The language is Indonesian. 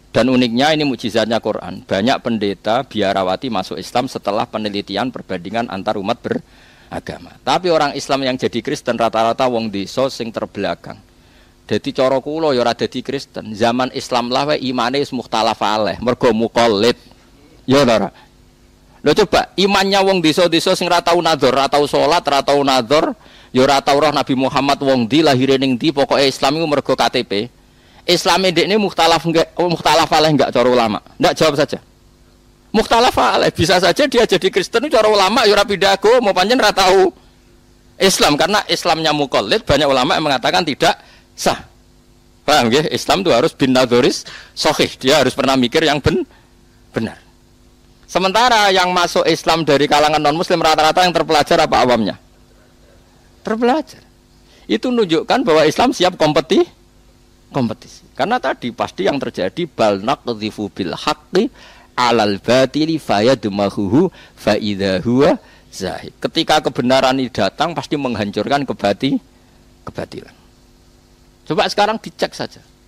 Dan uniknya ini mukjizatnya Quran. Banyak pendeta biarawati masuk Islam setelah penelitian perbandingan antar umat beragama. Tapi orang Islam yang jadi Kristen rata-rata wong desa sing terbelakang. Dadi cara kula ya ora dadi Kristen. Zaman Islam lah wae imane wis mukhtalaf alaih, mergo muqallid. Ya ora. Lho coba imannya wong desa-desa sing ra tau nadzar, ra tau salat, ra tau nadzar, ya ora tau roh Nabi Muhammad wong ndi lahire ning ndi, pokoke Islam iku mergo KTP. Islam ini mukhtalaf alaih enggak cara ulama. Enggak, jawab saja. Mukhtalaf alaih, bisa saja dia jadi Kristen cara ulama ya ora pindah agama, pancen ra tau Islam karena Islamnya muqallid, banyak ulama yang mengatakan tidak sah. Paham nggih? Islam itu harus bin nadzoris sahih, dia harus pernah mikir yang benar. Sementara yang masuk Islam dari kalangan non muslim rata-rata yang terpelajar apa awamnya? Terpelajar. Itu menunjukkan bahwa Islam siap kompetisi. Karena tadi pasti yang terjadi bal naqdhifu bil haqqi 'alal batili fayadmahuhu fa idza huwa zahid. Ketika kebenaran ini datang pasti menghancurkan kebatilan. Coba sekarang dicek saja.